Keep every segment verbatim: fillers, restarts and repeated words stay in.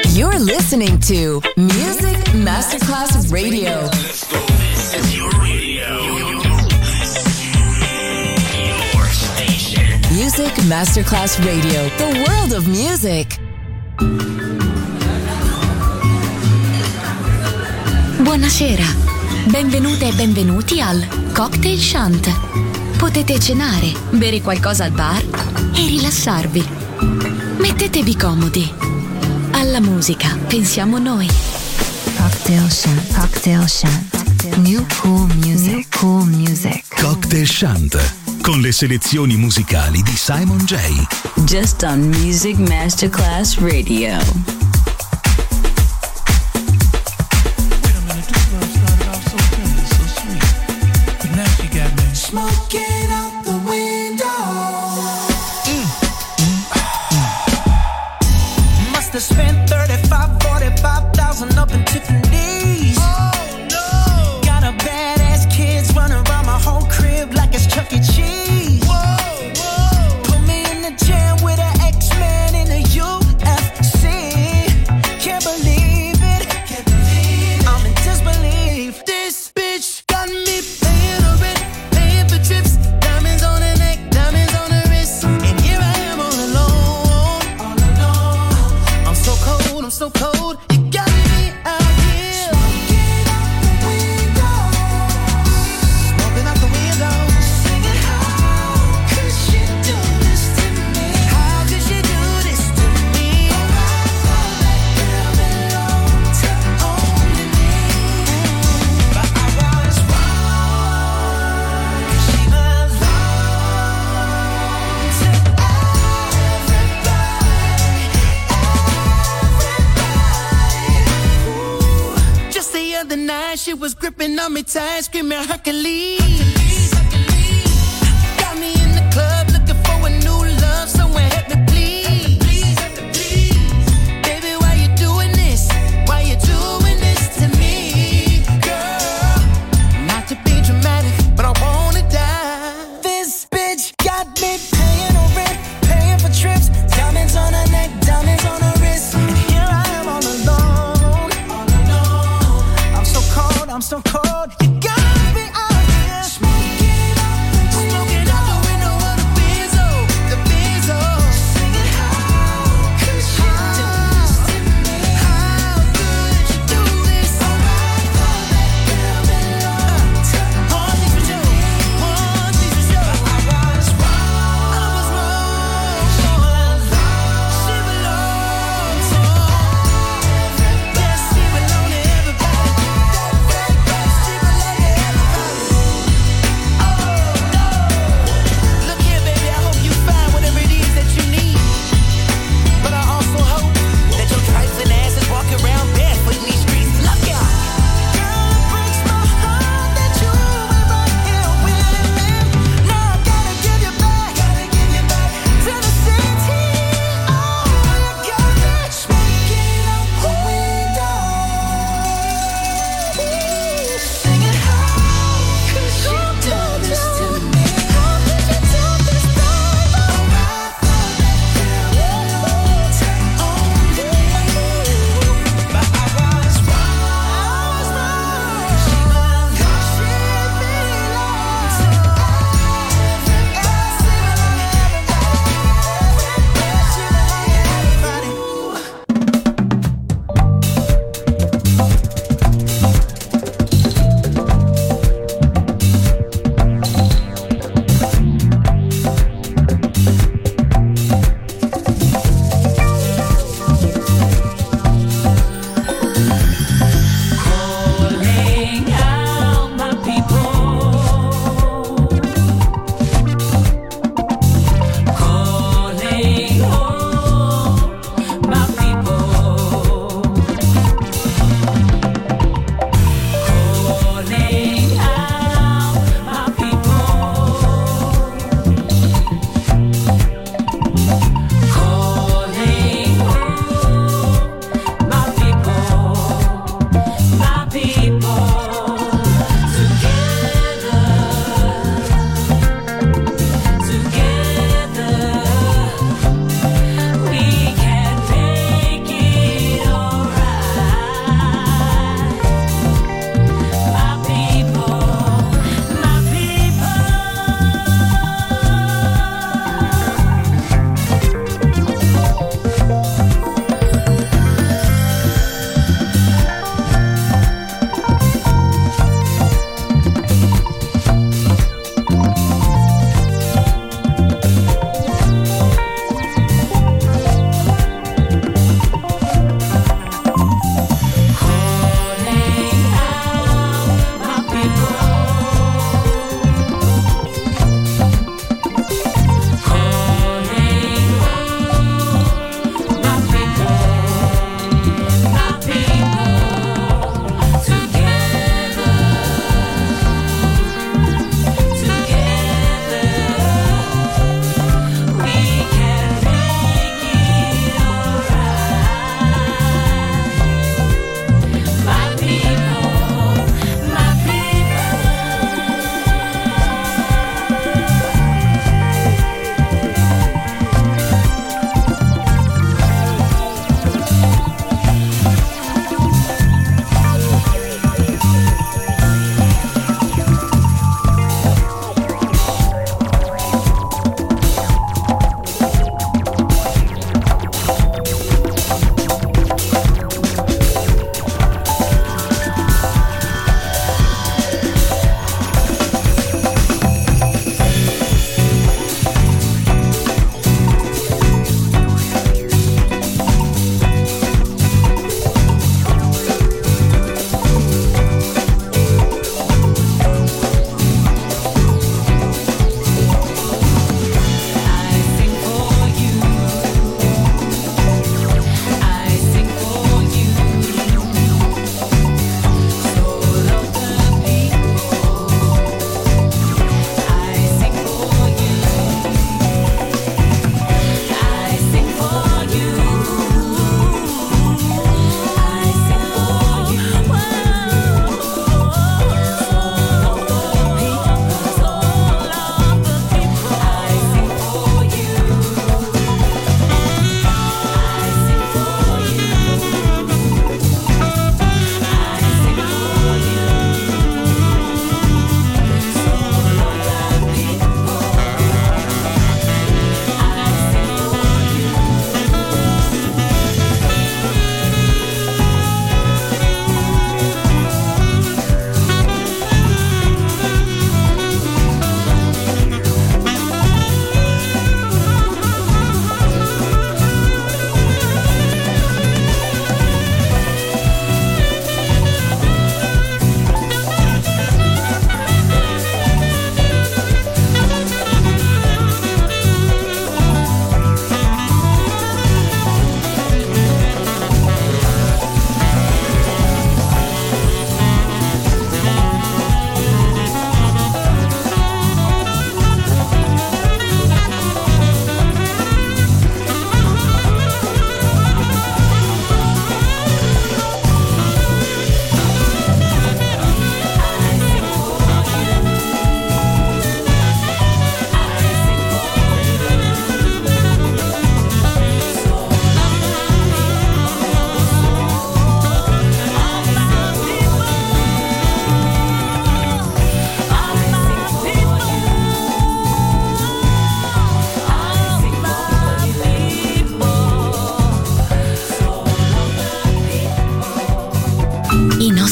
You're listening to Music Masterclass Radio. Let's go. This is your radio. Your station. Music Masterclass Radio. The world of music. Buonasera. Benvenute e benvenuti al Cocktail Shant. Potete cenare, bere qualcosa al bar e rilassarvi. Mettetevi comodi. Alla musica pensiamo noi. Cocktail Shant. Cocktail Shant. New cool music. New cool music. Cocktail Shant. Con le selezioni musicali di Simon J. Just on Music Masterclass Radio. Smoking out the window. Mm. Mm. Mm. Must have spent thirty-five, forty-five thousand up in Tiffany's. Oh no! Got a badass kids running around my whole crib like it's Chuck E. Cheese. Whoa, whoa! Put me in the jam with an X-Men in the U F C. Can't believe it. Can't believe it. I'm in disbelief. This bitch got me paying a rent. Trips, diamonds on the neck, diamonds on the wrist, and here I am all alone, all alone. I'm so cold, I'm so cold. You got me out here. Smoking out the window, smoking out the window, singing how could she do this to me? How could she do this to me? Oh, I thought that girl belonged to only me, but I was wrong. She belongs to everybody, everybody. Ooh. Just the other night, she was gripping on me tight, screaming Hercules. Got me in the club looking for a new love, someone help me please. Baby, why you doing this? Why you doing this to me, girl? Not to be dramatic, but I wanna die. This bitch got me paying her rent, paying for trips, diamonds on her neck, diamonds on her wrist, and here I am all alone, all alone. I'm so cold, I'm so cold. You got me out here.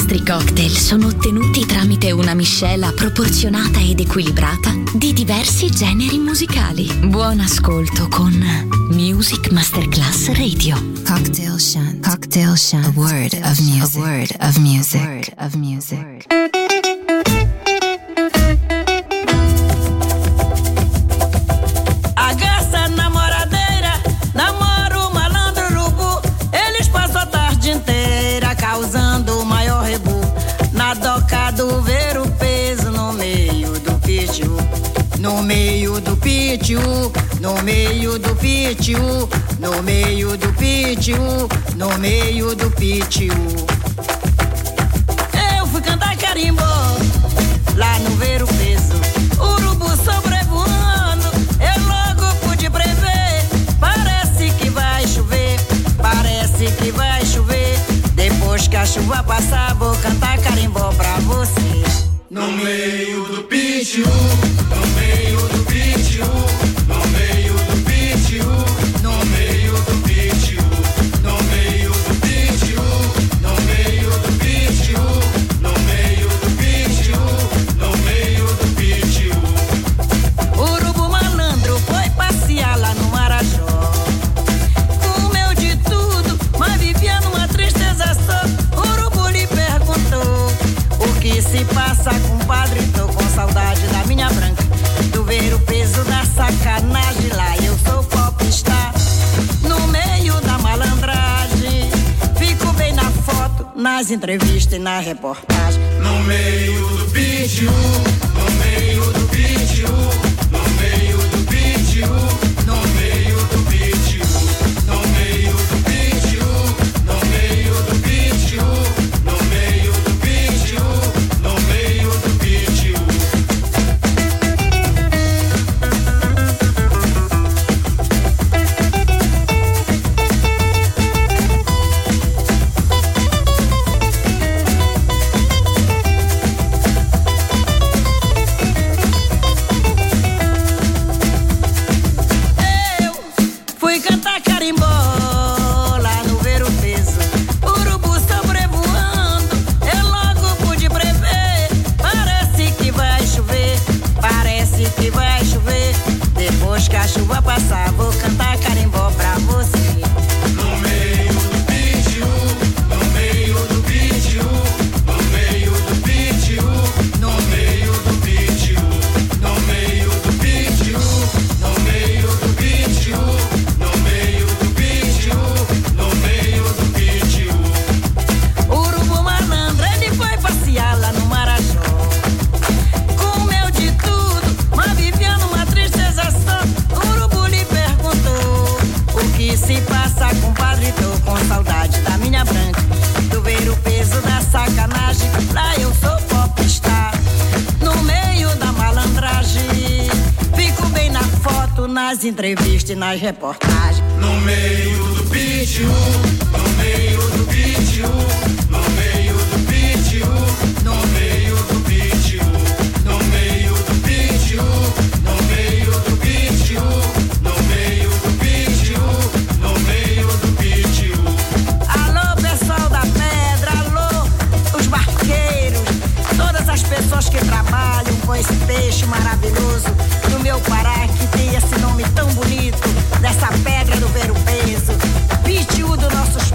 nostri cocktail sono ottenuti tramite una miscela proporzionata ed equilibrata di diversi generi musicali. Buon ascolto con Music Masterclass Radio. Cocktail Shant. Cocktail Shant. A word of music. A word of music. A word of music. A garça namoradeira namora o malandro urubu. Eles passam a tarde inteira causando o maior rebu. Na doca do ver o peso no meio do pitiu. No meio do pitiu, no meio do pitiu, no meio do pitiu, no meio do pitiu. Eu fui cantar carimbó lá no ver o peso. Urubu sobrevoando, eu logo pude prever. Parece que vai chover, parece que vai chover. Depois que a chuva passar, vou cantar carimbó pra você. No meio do pitiu, no meio do pitiu, no meio do pitiu, no meio do pitiu, no meio do pitiu, no meio do pitiu, no meio do pitiu, no meio do pitiu. Urubu malandro foi passear lá no Marajó. Comeu de tudo, mas vivia numa tristeza só. Urubu lhe perguntou: o que se passa, compadre? Tô com saudade da minha branca. Tu ver o peso da sacanagem lá, eu sou popstar. No meio da malandragem, fico bem na foto, nas entrevistas e na reportagem. No meio do pitiu, no meio do pitiu, no meio do pitiu, no meio do pitiu, no meio do pitiu, no meio do pitiu, no meio do pitiu, no meio do pitiu. Fui cantar carimbó lá no ver o peso. Urubu sobrevoando, eu logo pude prever. Parece que vai chover, parece que vai chover. Depois que a chuva passar, vou cantar carimbó pra você. No meio do pitiu, no meio do pitiu, no meio do pitiu, no meio do pitiu, no meio do pitiu, no meio do pitiu, no meio do pitiu, no meio do pitiu. Urubu malandro, ele foi passear lá no Marajó. Comeu de tudo, mas vivia numa tristeza só. Urubu lhe perguntou: o que se passa, compadre? Tô com saudade da minha branca. Tu ver o peso da sacanagem, lá eu sou popstar. No meio da malandragem, fico bem na foto, nas entrevistas e nas reportagens. No meio do pitiu, no meio do pitiu, no meio do pitiu, no meio do pitiu, no meio do pitiu, no meio do pitiu, no meio do pitiu, no meio do pitiu. Alô, pessoal da pedra, alô, os barqueiros, todas as pessoas que trabalham com esse peixe maravilhoso do meu Pará, que tem esse nome tão bonito, dessa pedra do ver o peso, pitiu dos nossos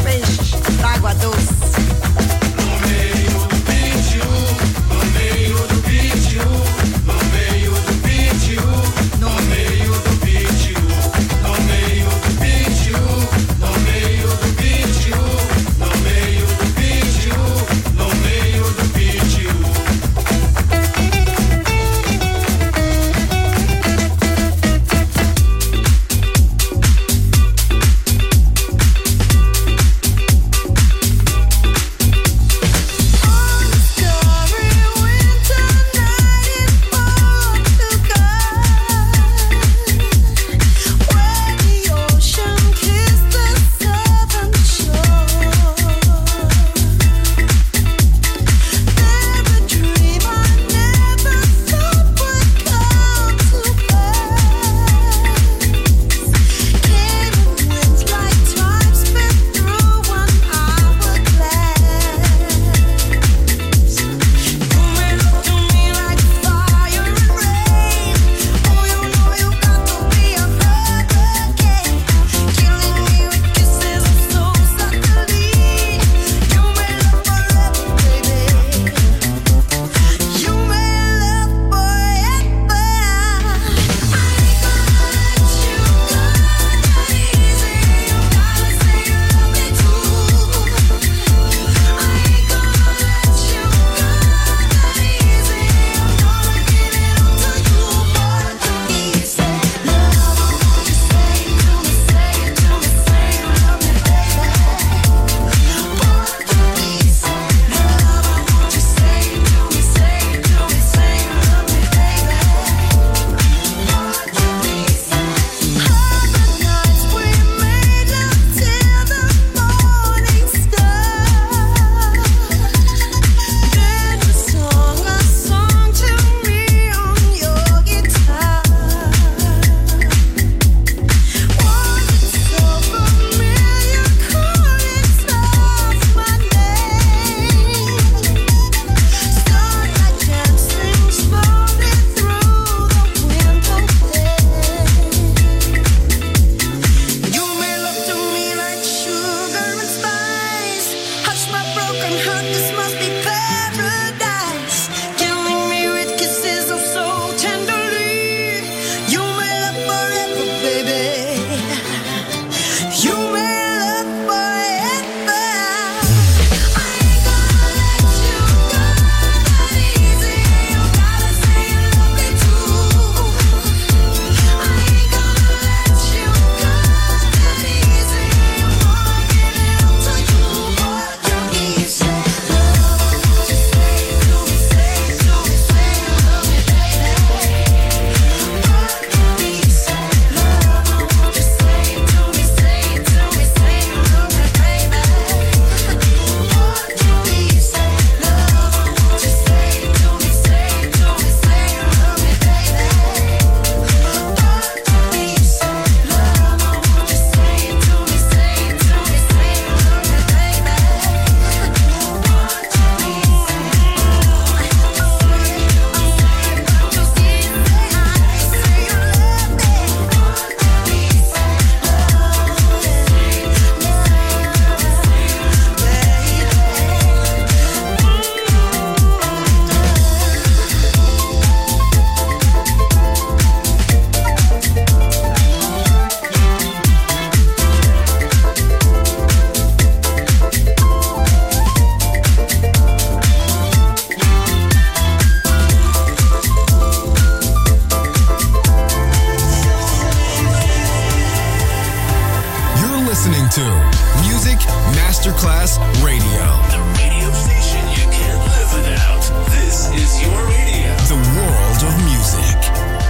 Music Masterclass Radio. The radio station you can't live without. This is your radio. The world of music.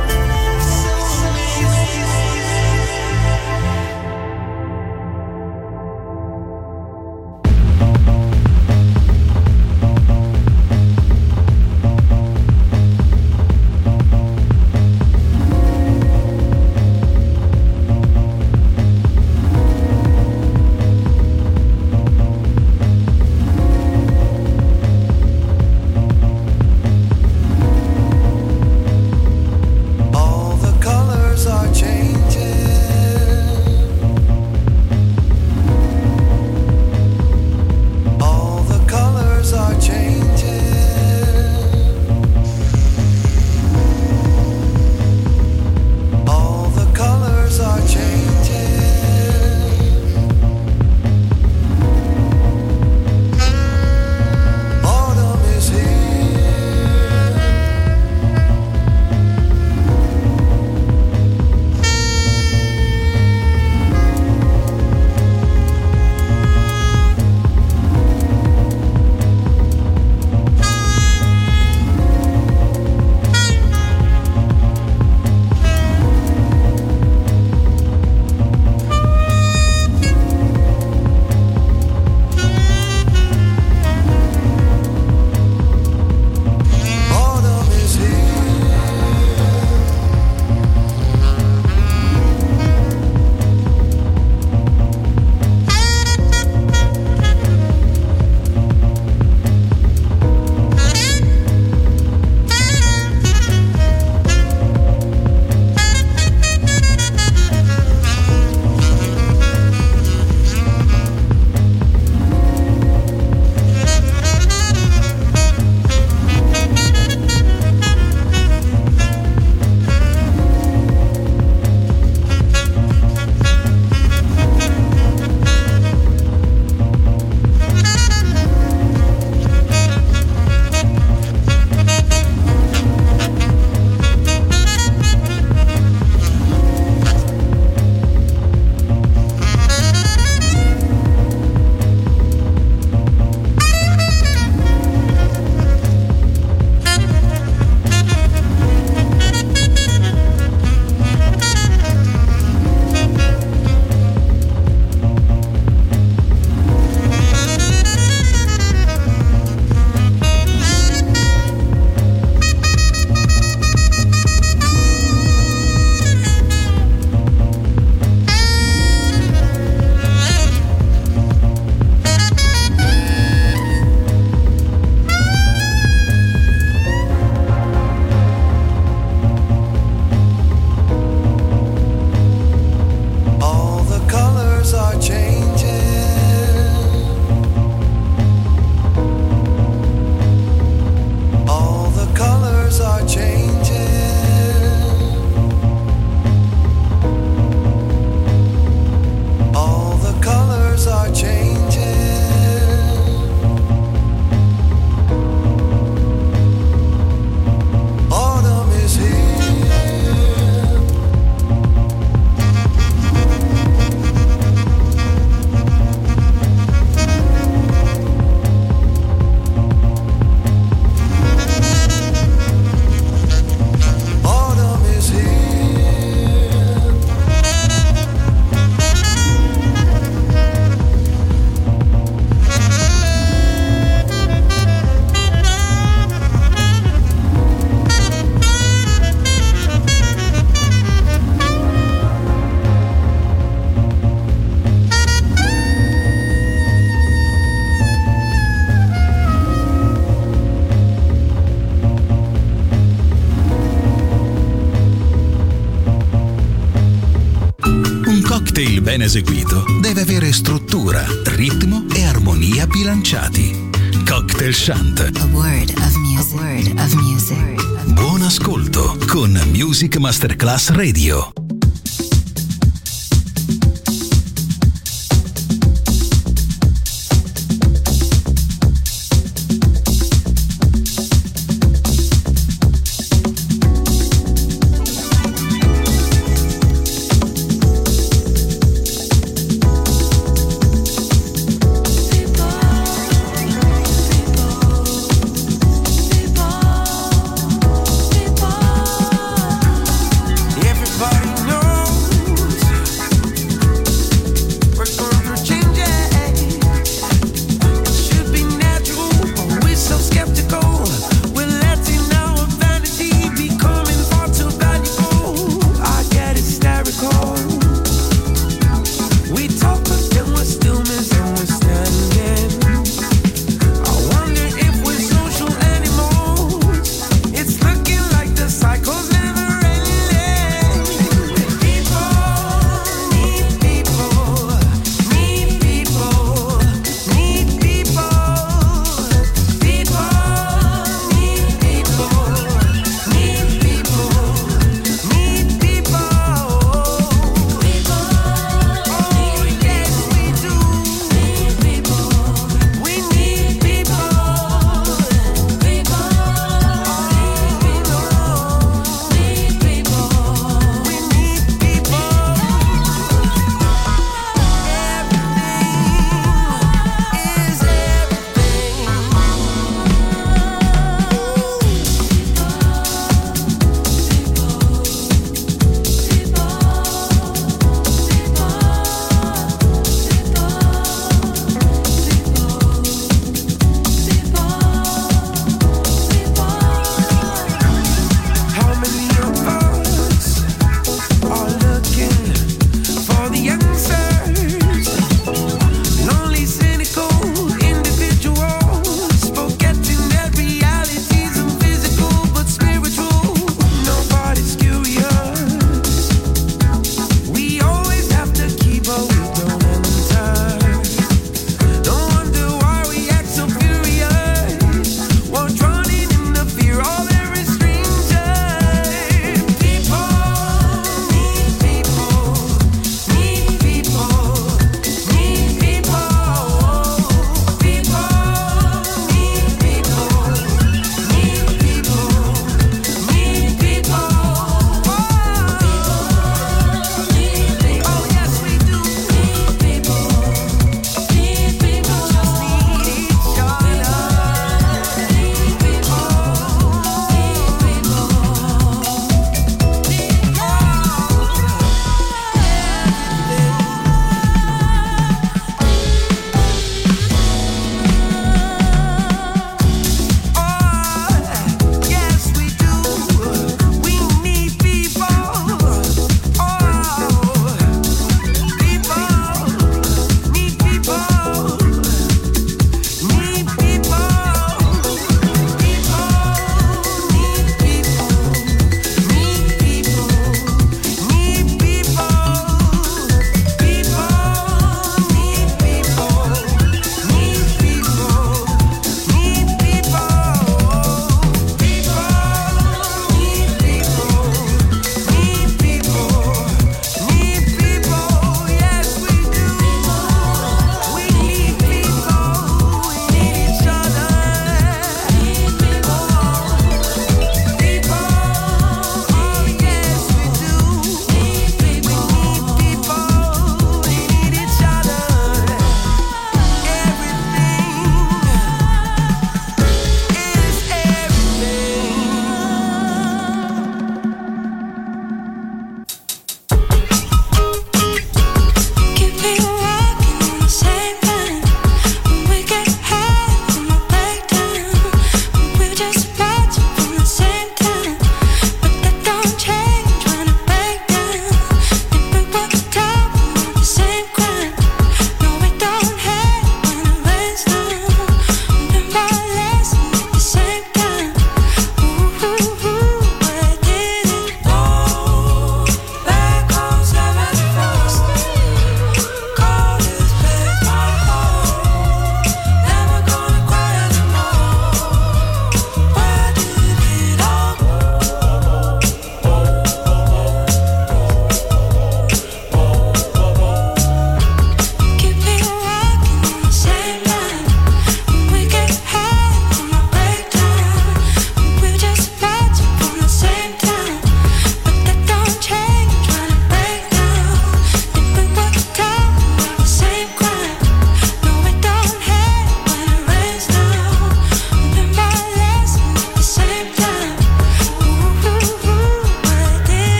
cocktail ben eseguito deve avere struttura, ritmo e armonia bilanciati. Cocktail Shant. A word of music. A word of music. Buon ascolto con Music Masterclass Radio.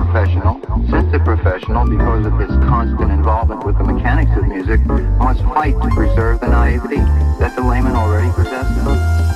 professional, since a professional, because of his constant involvement with the mechanics of music, must fight to preserve the naivety that the layman already possesses.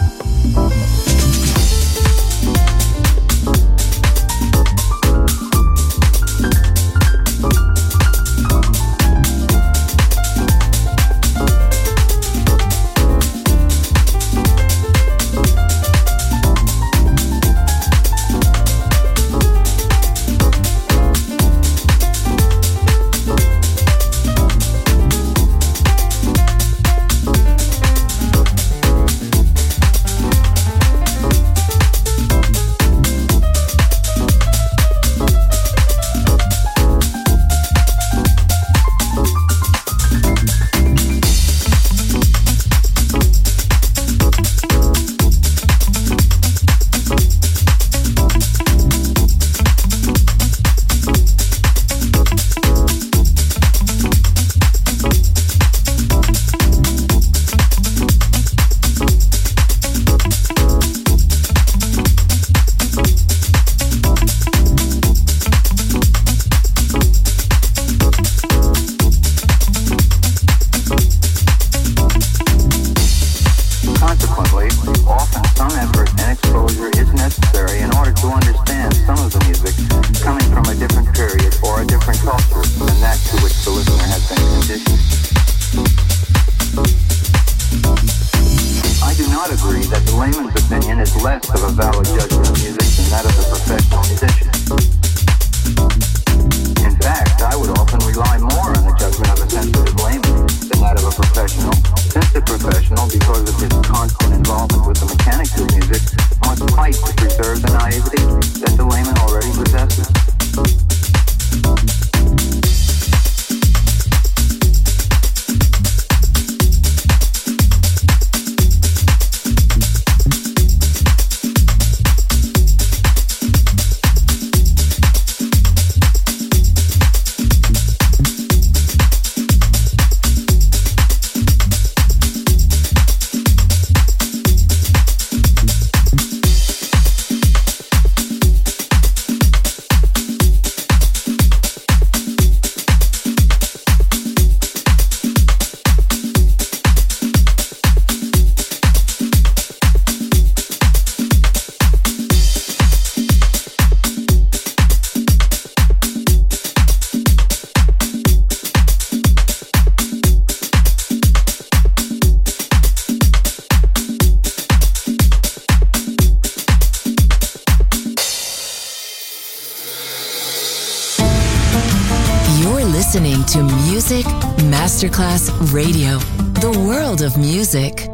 Listening to Music Masterclass Radio, the world of music.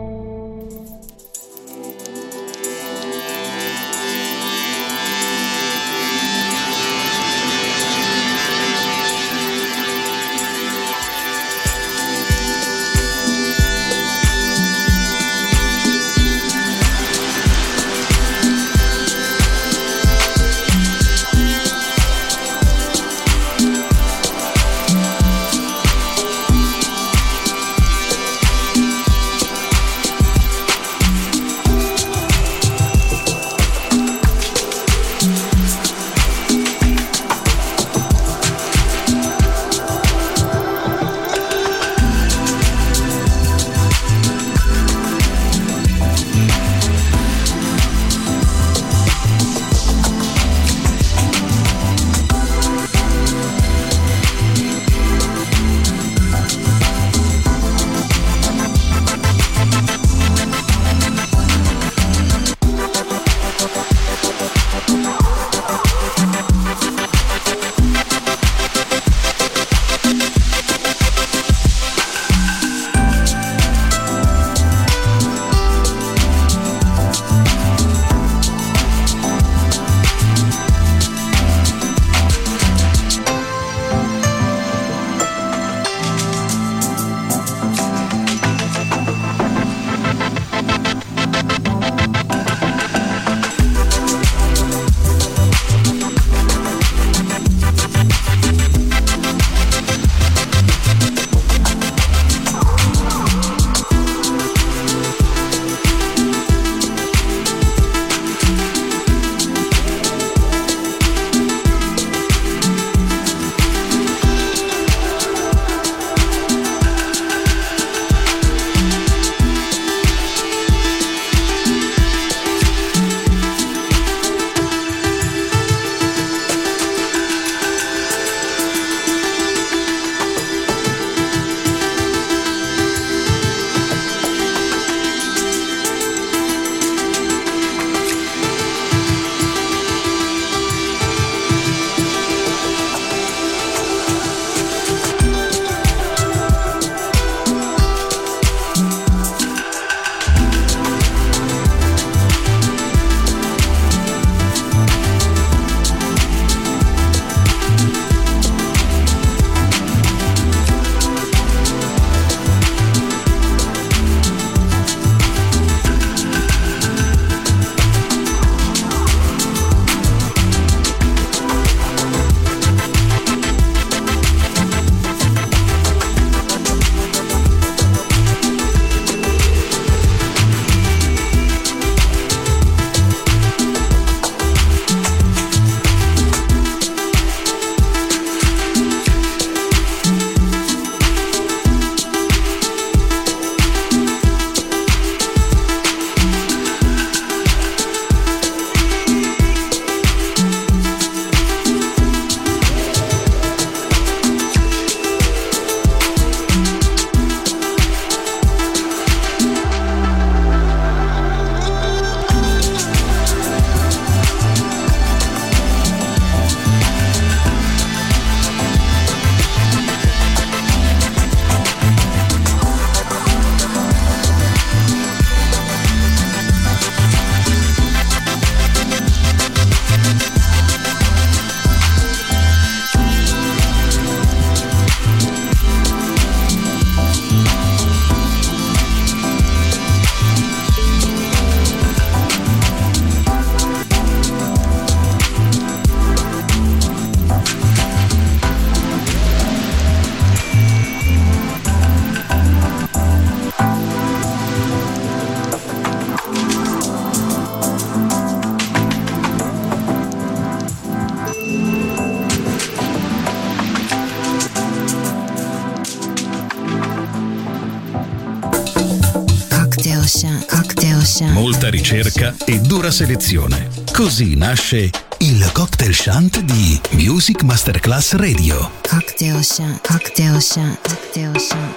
Ocean, Cocktail Ocean. Molta ricerca e dura selezione. Così nasce il Cocktail Shant di Music Masterclass Radio. Cocktail Ocean, Cocktail Ocean, Cocktail Ocean.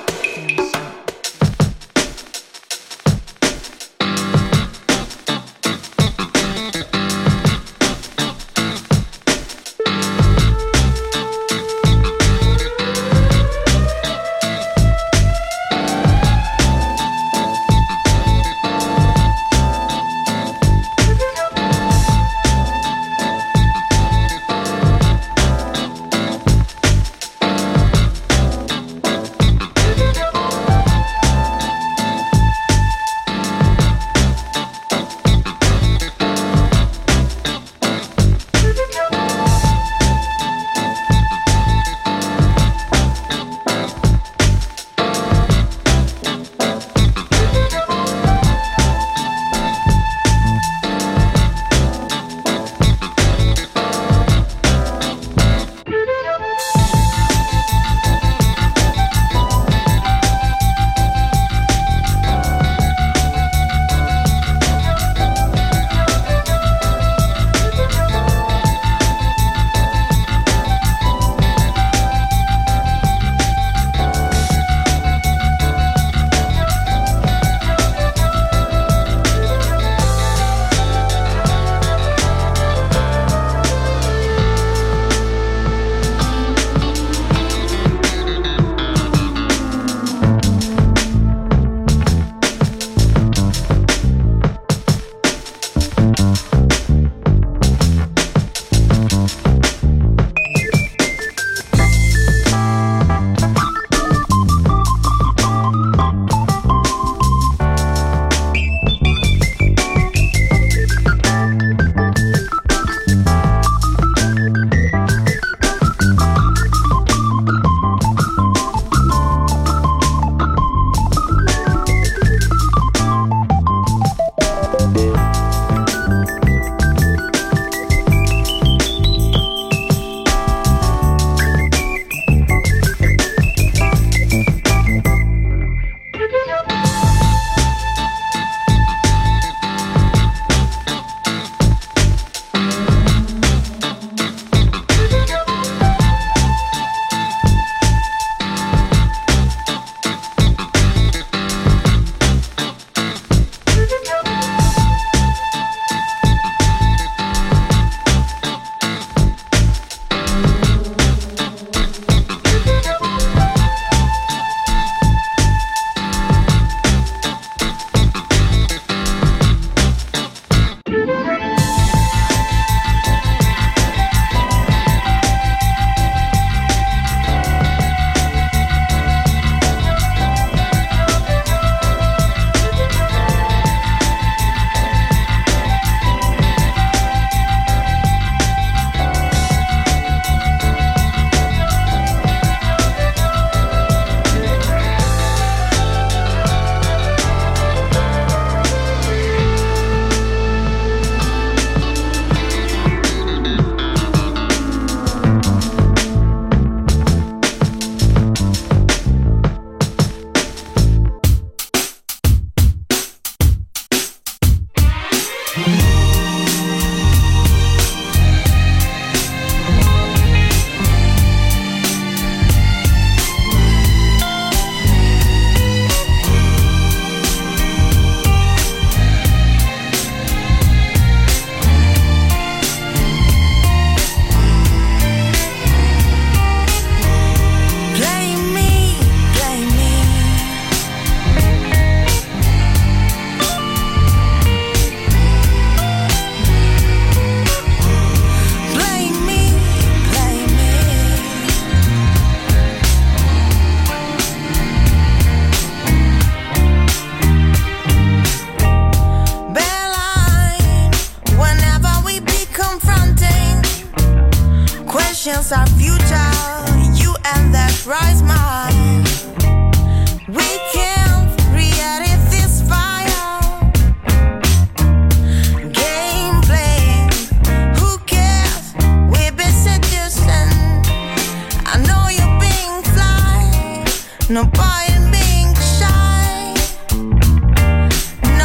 questions our future, you and that rise mine. We can't re-edit this fire. Gameplay, who cares? We've been seducing. I know you're being fly, no point in being shy.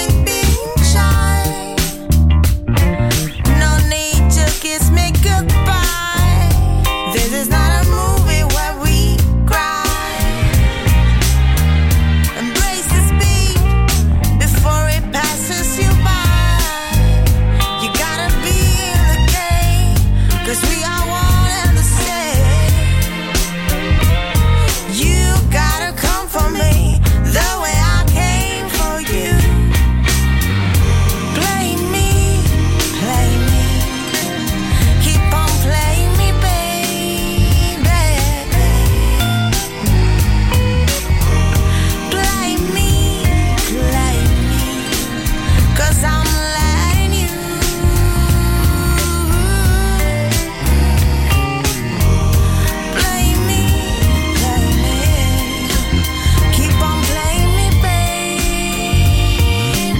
point being shy. No need to kiss me goodbye. This is not a movie where we cry. Embrace the speed before it passes you by. You gotta be in the game, 'cause we are one and the same. You gotta come for me the way I came for you. Play me, play me, keep on playing me, baby. Play me, play me, 'cause I'm letting you. Play me, play me, keep on playing me, baby.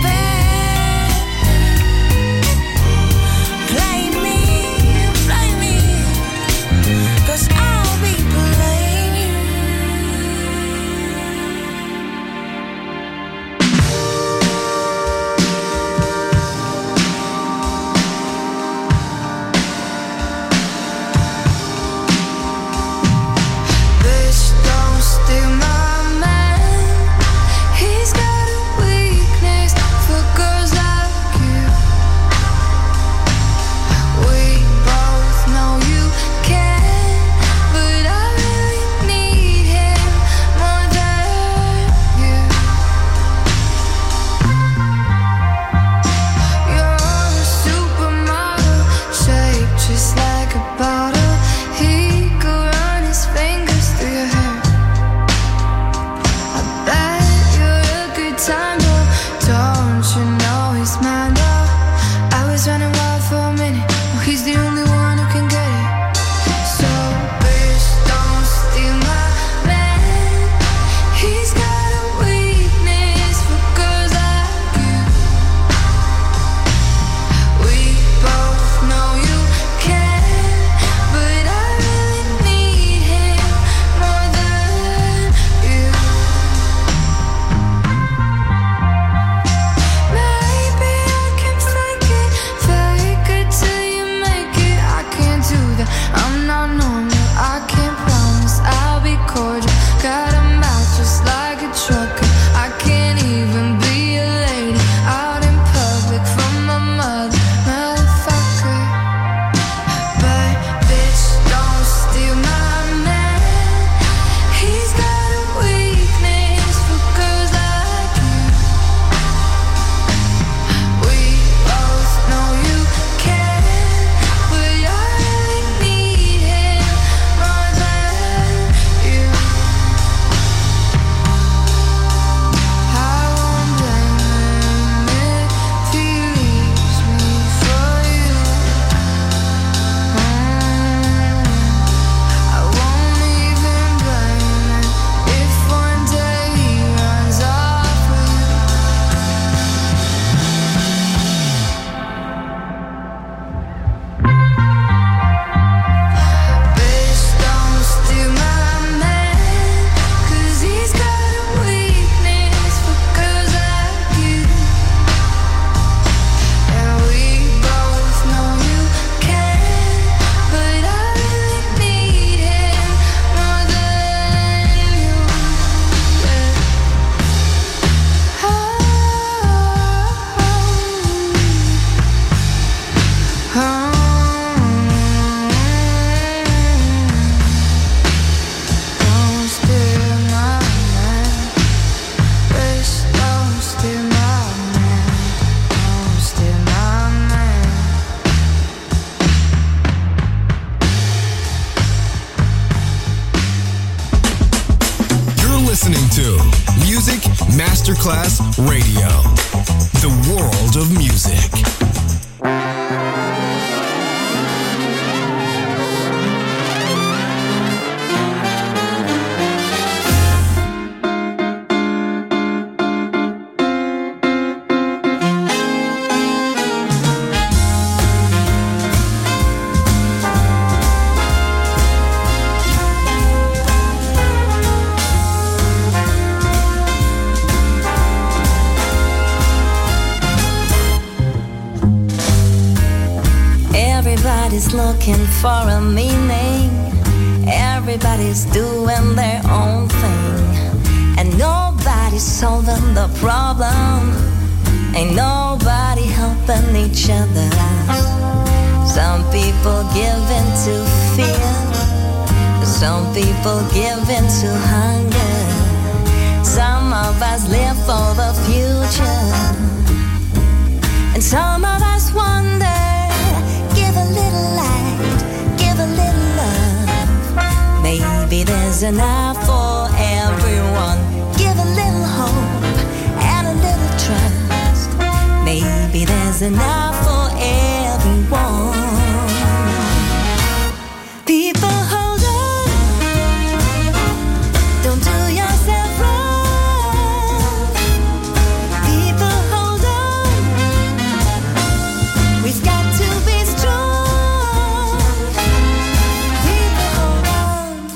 Play me, play me, 'cause I'll be playing you. Bitch, don't steal my man. He's got a weakness for girls like you. We both know you can, but I really need him more than you. You're a supermodel, shaped just like a bottle. He could run his fingers through your hair. I bet you're a good time, though. Don't you know he's mine, though? I was running wild for a minute. Well, he's the only one who can get it. So, bitch, don't steal my man. He's got a weakness for girls like you. We both know you can, but I really need him more than you. Maybe I can fake it, fake it till you make it. I can't do that, I'm not normal. I can't promise I'll be cordial. Got a mouth just like a trucker. I can't even be a lady out in public from my mother, motherfucker. But bitch, don't steal my man. He's got a weakness for girls like you. We both know you can, but I really need him more than you. I won't blame him if he leaves me for you. Mm. I won't even blame him if one day he runs off with you. Bitch, don't steal my man, 'cause he's got a weakness for girls like you. And we both know you can, but I really need him more than you. Oh, don't steal my man. Bitch, don't steal my man. Don't steal my man. You're listening to Music Masterclass Radio. The world of music. Everybody's looking for a meaning. Everybody's doing their own thing. And nobody's solving the problem. Ain't nobody helping each other. Some people give in to fear. Some people give in to hunger. Some of us live for the future. And some of us wonder. Give a little light, give a little love. Maybe there's enough for everyone. Give a little hope and a little trust. Maybe there's enough for everyone. People hold on. Don't do yourself wrong. People hold on. We've got to be strong. People hold on.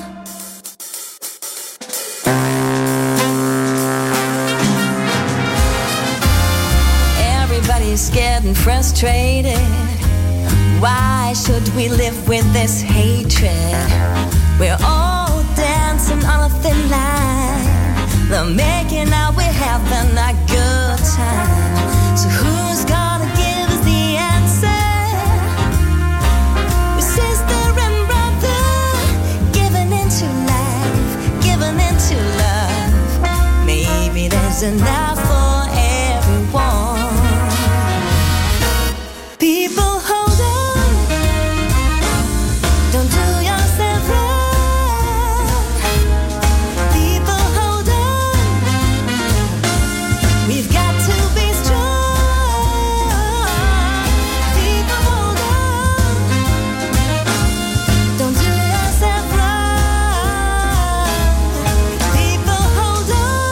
Everybody's getting frustrated. Why should we live with this hatred? We're all dancing on a thin line. They're making out we're having a good time. So who's gonna give us the answer? We're sister and brother, giving into life, giving into love. Maybe there's enough for everyone. People hold on. Don't do yourself wrong. People hold on. We've got to be strong. People hold on. Don't do yourself wrong. People hold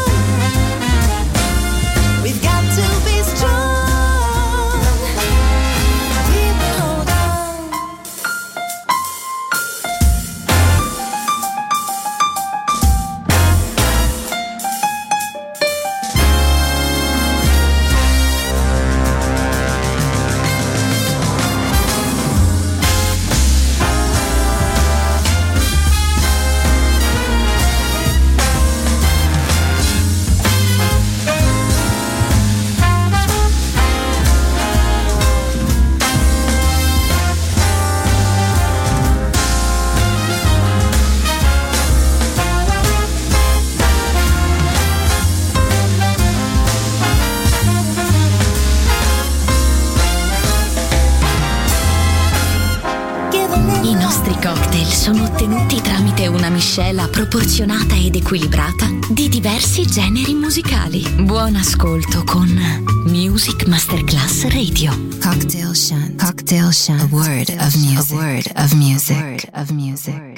on. We've got to be strong. I nostri cocktail sono ottenuti tramite una miscela proporzionata ed equilibrata di diversi generi musicali. Buon ascolto con Music Masterclass Radio. Cocktail Shant. Cocktail Shant. A word of music. A word of music. A word of music.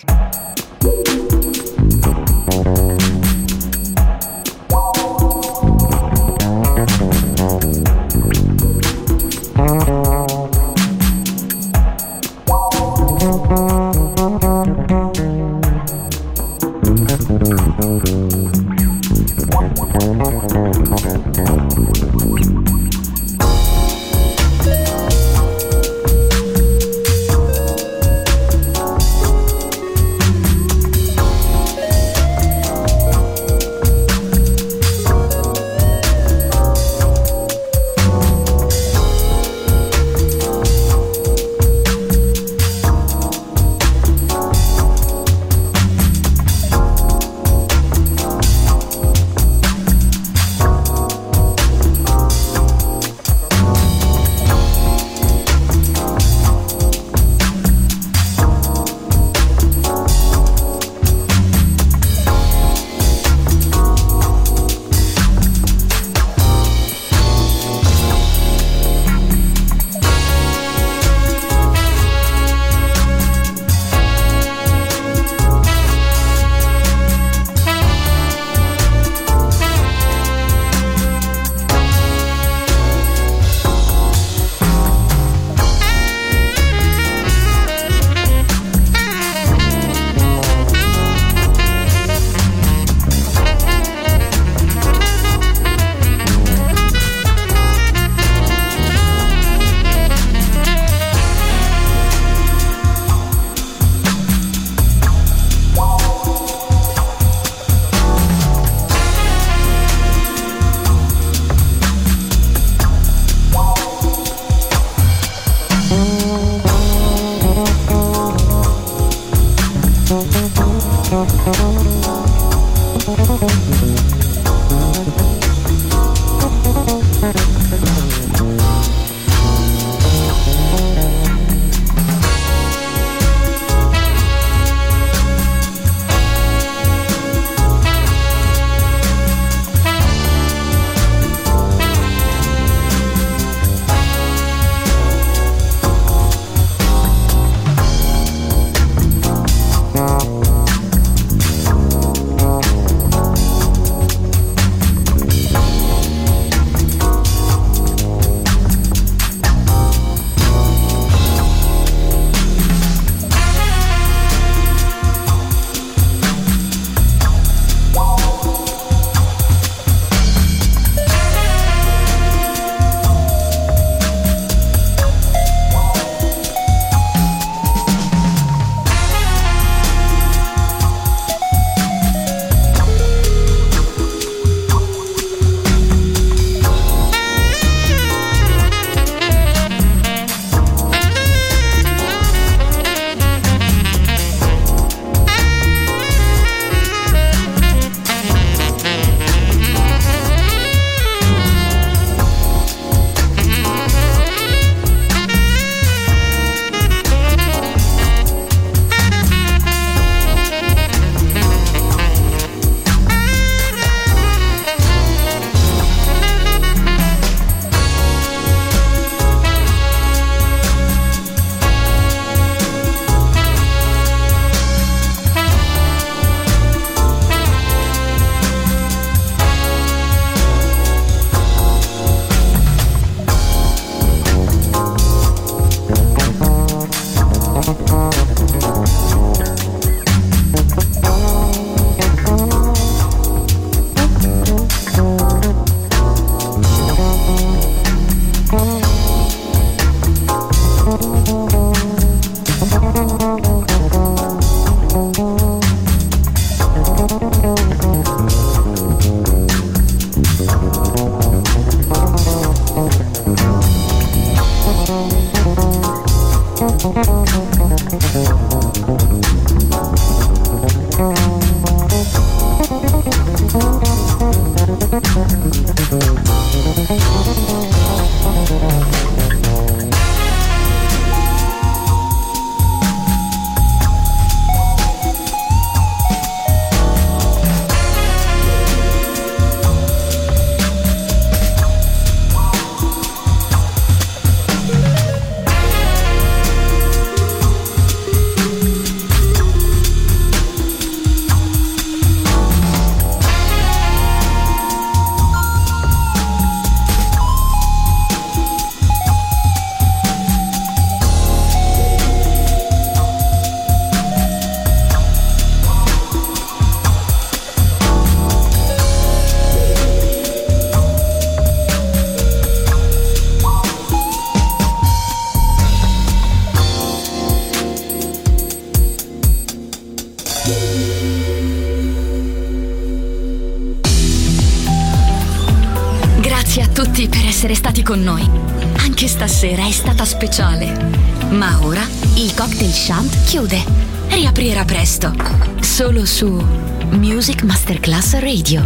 con noi. Anche stasera è stata speciale. Ma ora il Cocktail Shant chiude. Riaprirà presto. Solo su Music Masterclass Radio.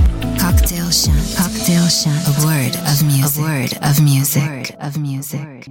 Cocktail Shant. Cocktail Shant. A word of music. A word of music. A word of music.